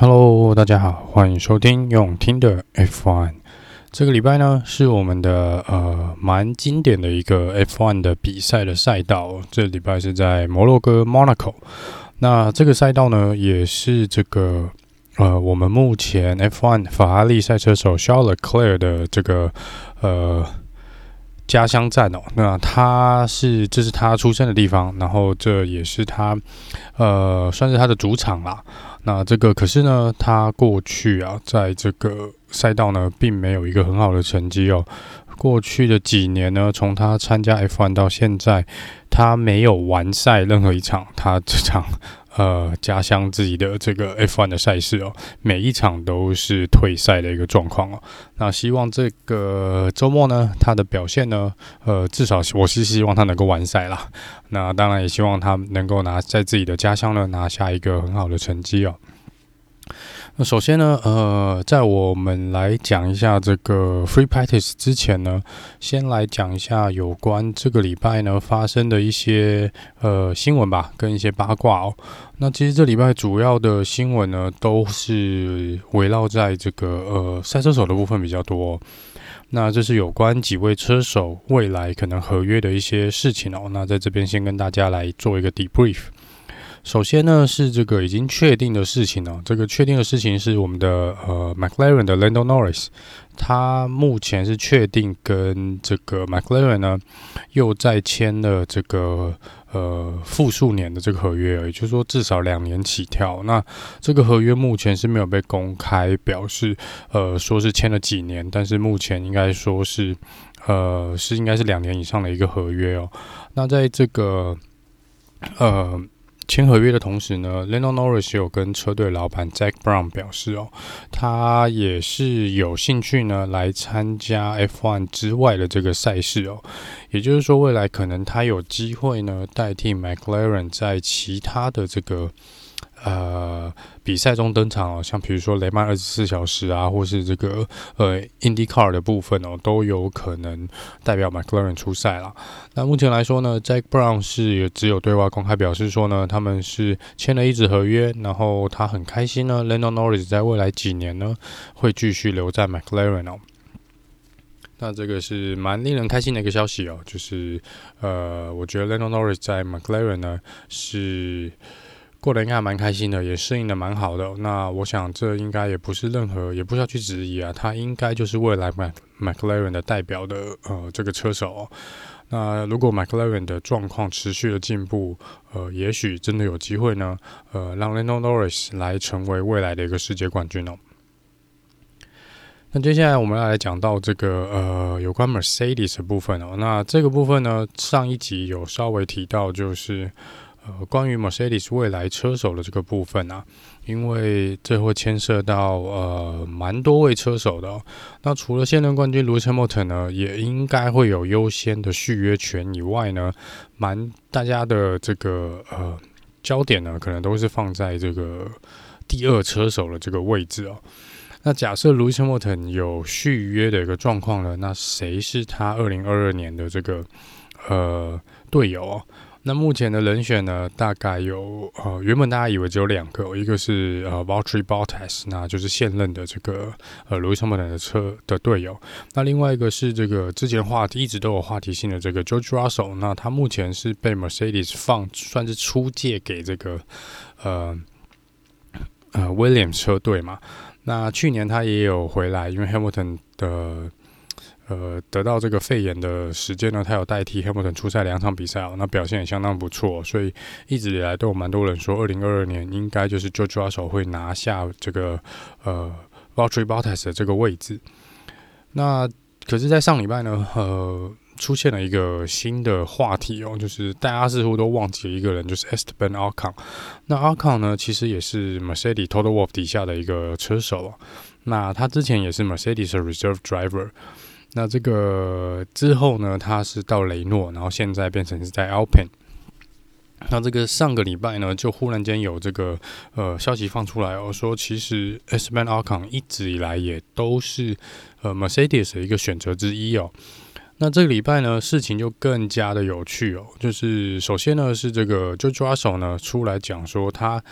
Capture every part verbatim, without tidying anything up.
Hello， 大家好，歡迎收聽用聽的 F 一。這個禮拜呢，是我們的呃蠻經典的一個 F 一 的比賽的賽道。這禮拜是在摩洛哥 Monaco。那這個賽道呢，也是這個呃我們目前 F 一 法拉利賽車手 Charles Leclerc 的這個呃家鄉站哦。那他是這是他出生的地方，然後這也是他呃算是他的主場啦。那這個可是呢，他過去啊，在這個賽道呢，並沒有一個很好的成績哦。過去的幾年呢，從他參加 F 一 到現在，他沒有完賽任何一場他這場呃家鄉自己的這個 F 一 的賽事哦，每一場都是退賽的一個狀況哦。那希望這個週末呢，他的表現呢，呃，至少我是希望他能夠完賽啦。那當然也希望他能夠拿在自己的家鄉呢拿下一個很好的成績哦。那首先呢，呃，在我們來講一下這個 Free Practice 之前呢，先來講一下有關這個禮拜呢發生的一些呃新聞吧，跟一些八卦哦。那其實這禮拜主要的新聞呢，都是圍繞在這個呃賽車手的部分比較多哦。那這是有關幾位車手未來可能合約的一些事情哦。那在這邊先跟大家來做一個 debrief。首先呢，是這個已經確定的事情哦。這個確定的事情是我們的呃 McLaren 的 Lando Norris， 他目前是確定跟這個 McLaren 呢又再簽了這個呃複數年的這個合約，也就是說至少兩年起跳。那這個合約目前是沒有被公開表示，呃說是簽了幾年，但是目前應該說是呃是應該是兩年以上的一個合約哦。那在這個呃。簽合約的同時呢 Lando Norris 有跟車隊老闆 Zak Brown 表示哦，他也是有興趣呢來參加 F 一 之外的這個賽事哦，也就是說未來可能他有機會呢代替 McLaren 在其他的這個呃比賽中登場哦，像比如說雷曼二十四小時啊，或是這個呃 IndyCar 的部分哦，都有可能代表 McLaren 出賽啦。那目前來說呢 Zak Brown 是也只有對外公開表示說呢，他們是簽了一紙合約，然後他很開心呢 Lando Norris 在未來幾年呢會繼續留在 McLaren 哦。那這個是蠻令人開心的一個消息哦，就是呃，我覺得 Lando Norris 在 McLaren 呢是過得應該還蠻開心的，也適應的蠻好的哦。那我想這應該也不是任何，也不需要去質疑啊，他應該就是未來 McLaren 的代表的呃這個車手哦。那如果 McLaren 的狀況持續的進步，呃，也許真的有機會呢，呃，讓 Lando Norris 來成為未來的一個世界冠軍哦。那接下來我們要來講到這個呃有關 Mercedes 的部分哦。那這個部分呢，上一集有稍微提到，就是呃關於 Mercedes 未來車手的這個部分啊，因為這會牽涉到呃蠻多位車手的哦。那除了現任冠軍 Lewis Hamilton 呢，也應該會有優先的續約權以外呢，蠻大家的這個呃焦點呢，可能都是放在這個第二車手的這個位置哦。那假設 Lewis Hamilton 有續約的一個狀況呢，那誰是他二零二二年的這個呃隊友哦？那目前的人選呢，大概有呃，原本大家以為只有兩個，一個是呃 Valtteri Bottas， 那就是現任的這個呃 Lewis Hamilton 的車的隊友。那另外一個是這個之前話題一直都有話題性的這個 George Russell， 那他目前是被 Mercedes 放算是出借給這個呃呃 Williams 車隊嘛。那去年他也有回來，因為 Hamilton 的呃得到這個肺炎的時間呢，他有代替 Hamilton 出賽兩場比賽哦，那表現也相當不錯，所以一直以來都有蠻多人說，二零二二年應該就是 George Russell 會拿下這個呃 Valtteri Bottas 的這個位置。那可是，在上禮拜呢，呃。出現了一個新的話題哦，就是大家似乎都忘記了一個人，就是 Esteban Ocon。那 Ocon 呢，其實也是 Mercedes Toto Wolff 底下的一個車手哦。那他之前也是 Mercedes 的 Reserve Driver。那這個之後呢，他是到雷諾，然後現在變成是在 Alpine。那這個上個禮拜呢，就忽然間有這個呃消息放出來哦，說其實 Esteban Ocon 一直以來也都是呃 Mercedes 的一個選擇之一哦。那這個禮拜呢，事情就更加的有趣哦。就是首先呢，是這個 George Russell 呢出來講說，他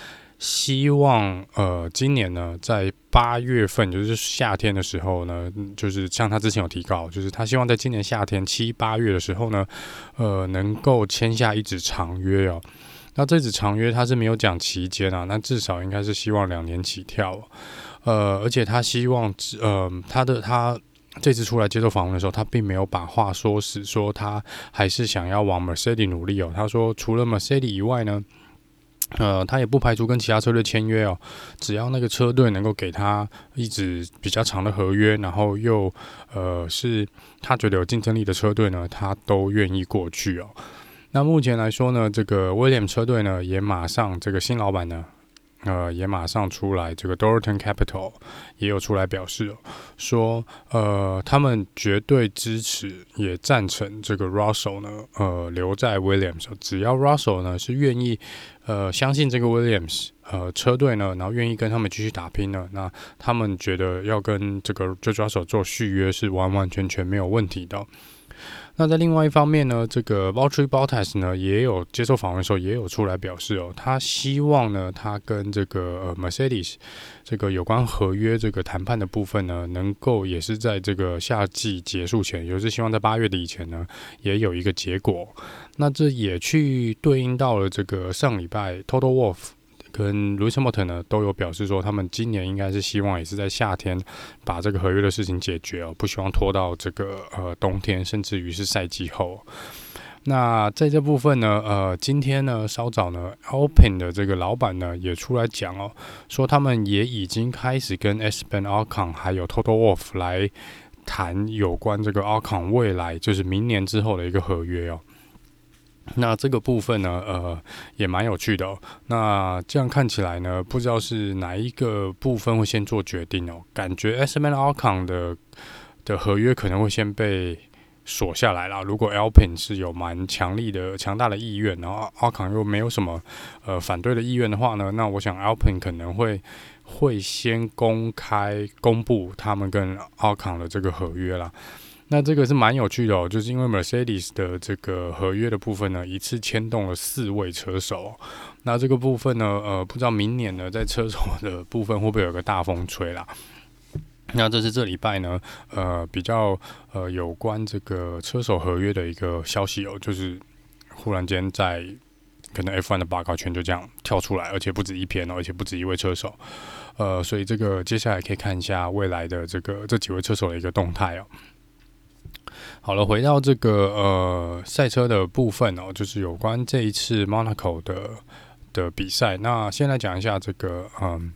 希望呃今年呢，在八月份，就是夏天的時候呢，就是像他之前有提到，就是他希望在今年夏天七八月的時候呢，呃，能夠簽下一紙長約哦。那這紙長約他是沒有講期間啊，那至少應該是希望兩年起跳哦。呃，而且他希望，呃，他的他。這次出來接受訪問的時候，他並沒有把話說死，說他還是想要往 Mercedes 努力哦。他說，除了 Mercedes 以外呢，呃，他也不排除跟其他車隊簽約哦。只要那個車隊能夠給他一紙比較長的合約，然後又呃是他覺得有競爭力的車隊呢，他都願意過去哦。那目前來說呢，這個 Williams 車隊呢，也馬上這個新老闆呢。呃，也馬上出來，這個 Dorilton Capital 也有出來表示哦，說呃，他們絕對支持，也贊成這個 Russell 呢，呃，留在 Williams，只要 Russell 呢是願意，呃，相信這個 Williams，呃，車隊呢，然後願意跟他們繼續打拼呢，那他們覺得要跟這個 George Russell 做續約是完完全全沒有問題的哦。那在另外一方面呢，這個 Valtteri Bottas 呢也有接受訪問的時候也有出來表示哦，他希望呢他跟這個呃 Mercedes 這個有關合約這個談判的部分呢，能夠也是在這個夏季結束前，也就是希望在八月底以前呢也有一個結果。那這也去對應到了這個上禮拜 Toto Wolff跟 Lewis Hamilton 呢都有表示說，他們今年應該是希望也是在夏天把這個合約的事情解決哦，不希望拖到這個呃冬天，甚至於是賽季後。那在這部分呢，呃，今天呢稍早呢 Alpine 的這個老闆呢也出來講哦，說他們也已經開始跟 Esteban Ocon 還有 Toto Wolff 來談有關這個 Ocon 未來就是明年之後的一個合約哦。那這個部分呢，呃，也蠻有趣的哦。那這樣看起來呢，不知道是哪一個部分會先做決定哦。感覺 Esteban Ocon 的的合約可能會先被鎖下來啦。如果 Alpine 是有蠻強力的、強大的意願，然後 Ocon 又沒有什麼呃反對的意願的話呢，那我想 Alpine 可能會會先公開公布他們跟 Ocon 的這個合約啦。那這個是蠻有趣的哦，就是因為 Mercedes 的這個合約的部分呢，一次牽動了四位車手哦。那這個部分呢，呃，不知道明年呢，在車手的部分會不會有個大風吹啦？那這是這禮拜呢，呃，比較呃有關這個車手合約的一個消息哦，就是忽然間在可能 F 一 的報告圈就這樣跳出來，而且不止一篇哦，而且不止一位車手，呃，所以這個接下來可以看一下未來的這個這幾位車手的一個動態哦。好了，回到這個呃賽車的部分哦，就是有關這一次 Monaco 的的比賽。那先來講一下這個嗯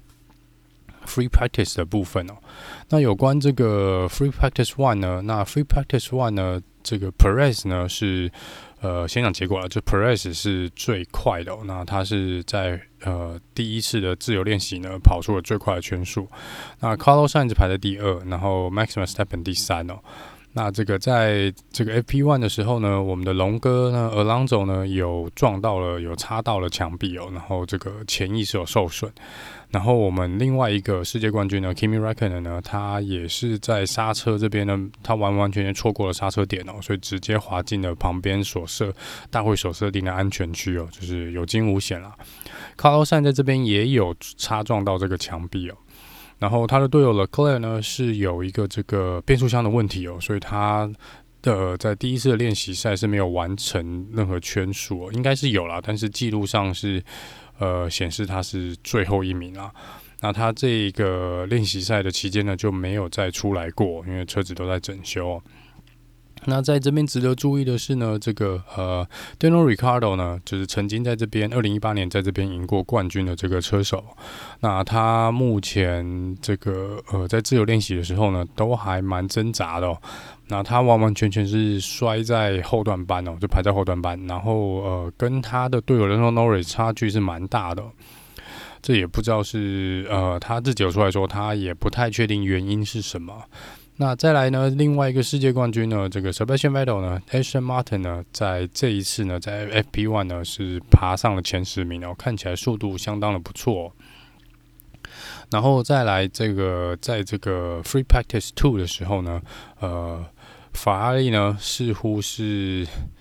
Free Practice 的部分哦。那有關這個 Free Practice One 呢，那 Free Practice One 呢，這個 Perez 呢是呃先講結果了，就 Perez 是最快的哦。那他是在呃第一次的自由練習呢跑出了最快的圈數。那 Carlos Sainz 排在第二，然後 Max Verstappen 第三哦。那這個在這個 F P 一 的時候呢，我們的龍哥呢 Alonso 呢有撞到了，有插到了牆壁哦，然後這個前翼是有受損。然後我們另外一個世界冠軍呢 Kimi Räikkönen 呢，他也是在剎車這邊呢，他完完全全錯過了剎車點哦，所以直接滑進了旁邊所設大會所設定的安全區哦，就是有驚無險啦。Carlos Sainz 在這邊也有擦撞到這個牆壁哦。然後他的隊友 Leclerc 呢是有一個這個變速箱的問題哦，所以他的在第一次的練習賽是沒有完成任何圈數哦，應該是有啦，但是記錄上是呃顯示他是最後一名啦。那他這個練習賽的期間呢就沒有再出來過，因為車子都在整修哦。那在這邊值得注意的是呢，這個呃 Daniel Ricciardo 呢，就是曾經在這邊二零一八年在這邊贏過冠軍的這個車手。那他目前這個呃在自由練習的時候呢，都還蠻掙扎的哦。那他完完全全是摔在後段班哦，就排在後段班，然後呃跟他的隊友 Lando Norris 差距是蠻大的哦。這也不知道是呃他自己有出來說，他也不太確定原因是什麼。那再來呢，另外一個世界冠軍呢，這個 Sebastian Vettel 呢 Aston Martin 呢，在這一次呢，在 F P 一 呢是爬上了前十名哦，看起來速度相當的不錯哦。然後再來這個，在這個 Free Practice 二的時候呢，呃，法拉利呢似乎是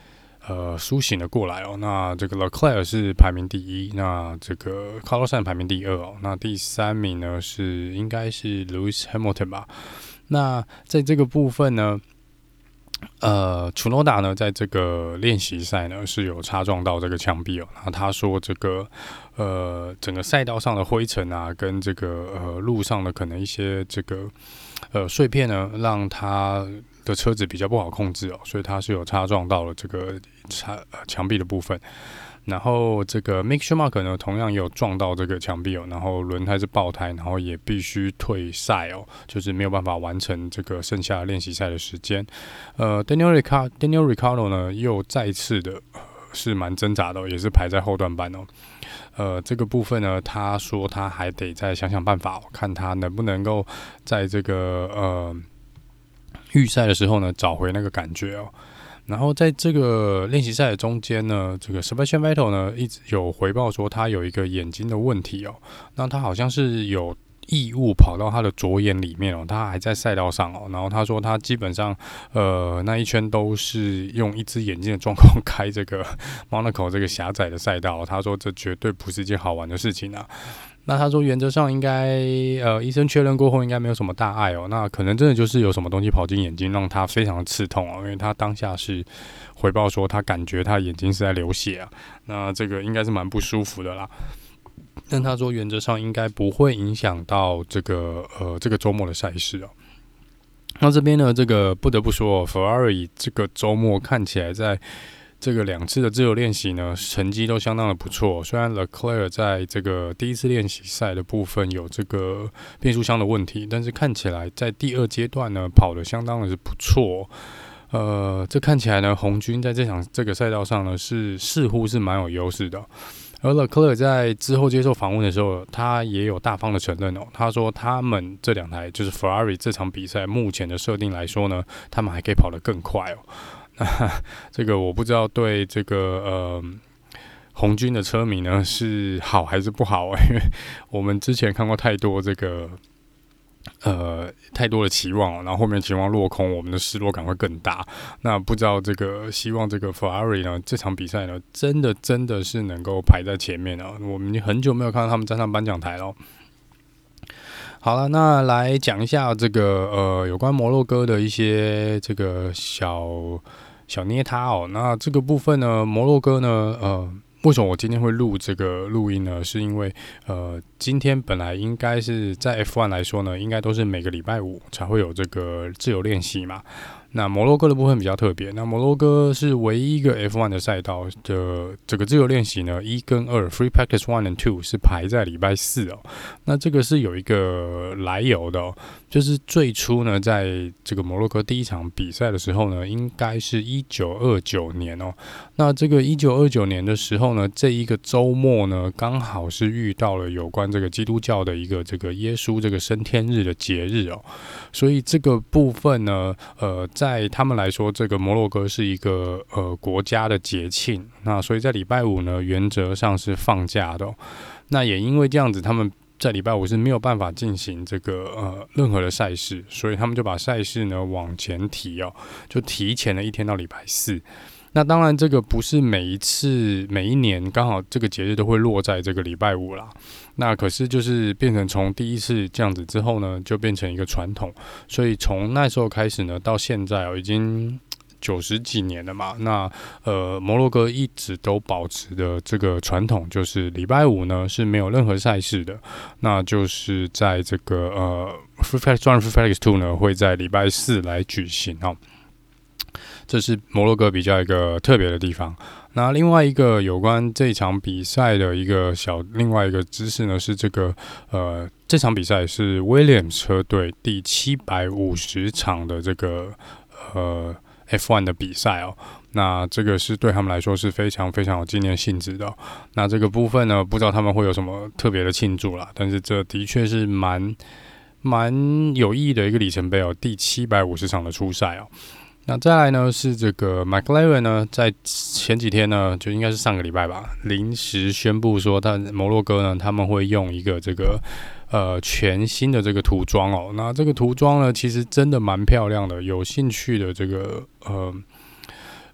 呃甦醒了過來哦。那這個 Leclerc 是排名第一，那這個 Carlos Sainz 排名第二哦。那第三名呢是應該是 Lewis Hamilton 吧。那在這個部分呢，呃，Tsunoda 呢在這個練習賽呢是有擦撞到這個牆壁哦。那他說這個呃整個賽道上的灰塵啊，跟這個呃路上的可能一些這個呃碎片呢，讓他的車子比較不好控制哦，所以他是有擦撞到了這個牆牆壁的部分。然後這個 Mick Schumacher 呢，同樣也有撞到這個牆壁哦，然後輪胎是爆胎，然後也必須退賽哦，就是沒有辦法完成這個剩下的練習賽的時間。呃 ，Daniel Ricciardo Daniel Ricciardo 呢，又再次的、呃、是蠻掙扎的、哦，也是排在後段班哦。呃，這個部分呢，他說他還得再想想辦法、哦，看他能不能夠在這個呃預賽的時候呢，找回那個感覺哦。然後在這個練習賽的中間呢，這個 Sebastian Vettel 呢一直有回報說他有一個眼睛的問題哦，那他好像是有異物跑到他的左眼裡面哦，他還在賽道上哦，然後他說他基本上呃那一圈都是用一隻眼睛的狀況開這個 Monaco 這個狹窄的賽道、哦，他說這絕對不是一件好玩的事情啊。那他說原則上應該呃醫生確認過後應該沒有什麼大礙哦，那可能真的就是有什麼東西跑進眼睛，讓他非常的刺痛哦，因為他當下是回報說他感覺他眼睛是在流血啊，那這個應該是蠻不舒服的啦。但他說原則上應該不會影響到這個呃這個周末的賽事哦。那這邊呢，這個不得不說 Ferrari 這個周末看起來在這個兩次的自由練習呢，成績都相當的不錯。雖然 Leclerc 在這個第一次練習賽的部分有這個變速箱的問題，但是看起來在第二階段呢，跑得相當的是不錯。呃，這看起來呢，紅軍在這場這個賽道上呢，是似乎是蠻有優勢的。而 Leclerc 在之後接受訪問的時候，他也有大方的承認哦，他說他們這兩台就是 Ferrari 這場比賽目前的設定來說呢，他們還可以跑得更快哦。那這個我不知道對這個呃紅軍的車迷呢是好還是不好啊？因為我們之前看過太多這個呃太多的期望，然後後面期望落空，我們的失落感會更大。那不知道這個希望這個 Ferrari 呢這場比賽呢真的真的是能夠排在前面啊！我們已經很久沒有看到他們站上頒獎台了。好了，那來講一下這個呃有關摩洛哥的一些這個小小捏他哦。那這個部分呢，摩洛哥呢，呃，為什麼我今天會錄這個錄音呢？是因為呃，今天本來應該是在 F 一 來說呢，應該都是每個禮拜五才會有這個自由練習嘛。那摩洛哥的部分比較特別，那摩洛哥是唯一一個 F 一 的賽道的這個自由練習呢，一跟二 Free Practice One and Two 是排在禮拜四哦。那這個是有一個來由的哦，就是最初呢，在這個摩洛哥第一場比賽的時候呢，應該是一九二九年哦。那這個一九二九年的時候呢，這一個週末呢，剛好是遇到了有關這個基督教的一個這個耶穌這個升天日的節日哦，所以這個部分呢，呃，在在他們來說，這個摩洛哥是一個呃國家的節慶，那所以在禮拜五呢，原則上是放假的哦。那也因為這樣子，他們在禮拜五是沒有辦法進行這個呃任何的賽事，所以他們就把賽事呢往前提哦，就提前了一天到禮拜四。那當然，這個不是每一次、每一年剛好這個節日都會落在這個禮拜五啦。那可是就是變成從第一次這樣子之後呢，就變成一個傳統。所以從那時候開始呢，到現在哦，已經九十幾年了嘛。那呃，摩洛哥一直都保持的這個傳統，就是禮拜五呢是沒有任何賽事的。那就是在這個呃 Free Practice One、Free Practice Two 呢會在禮拜四來舉行哦。這是摩洛哥比較一個特別的地方。那另外一個有關這場比賽的一個小另外一個知識呢，是這個呃這場比賽是 Williams 車隊第七百五十場的這個呃 F 一 的比賽哦。那這個是對他們來說是非常非常有紀念性質的哦。那這個部分呢，不知道他們會有什麼特別的慶祝啦，但是這的確是蠻蠻有意義的一個里程碑哦，第七百五十場的出賽哦。那再來呢是這個 McLaren 呢，在前幾天呢，就應該是上個禮拜吧，臨時宣布說，他摩洛哥呢，他們會用一個這個呃全新的這個塗裝哦。那這個塗裝呢，其實真的蠻漂亮的，有興趣的這個呃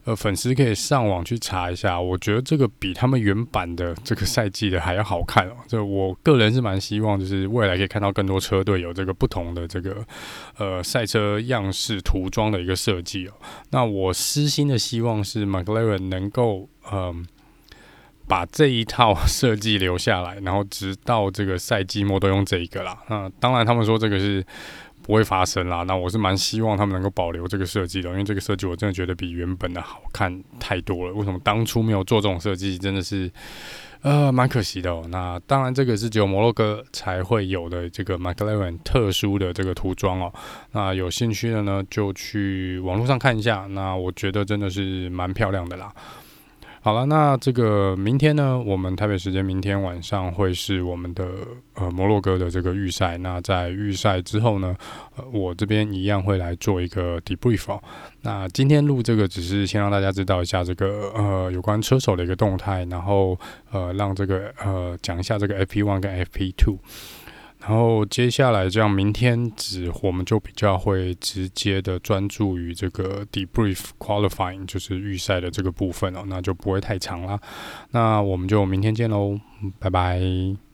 呃，粉絲可以上網去查一下，我覺得這個比他們原版的這個賽季的還要好看哦。這我個人是蠻希望，就是未來可以看到更多車隊有這個不同的這個呃賽車樣式塗裝的一個設計哦。那我私心的希望是 McLaren 能夠嗯、呃、把這一套設計留下來，然後直到這個賽季末都用這一個啦。那當然他們說這個是不會發生啦，那我是蠻希望他們能夠保留這個設計的，因為這個設計我真的覺得比原本的好看太多了。為什麼當初沒有做這種設計，真的是呃蠻可惜的哦。那當然這個是只有摩洛哥才會有的這個 McLaren 特殊的這個塗裝哦。那有興趣的呢，就去網絡上看一下。那我覺得真的是蠻漂亮的啦。好了，那這個明天呢，我們台北時間明天晚上會是我們的呃摩洛哥的這個預賽。那在預賽之後呢，呃，我這邊一樣會來做一個 debrief 哦。那今天錄這個只是先讓大家知道一下這個呃有關車手的一個動態，然後呃讓這個呃講一下這個 F P 一 跟 F P 二。然後接下來這樣，明天只我們就比較會直接的專注於這個 debrief qualifying， 就是預賽的這個部分哦，那就不會太長啦。那我們就明天見嘍，拜拜。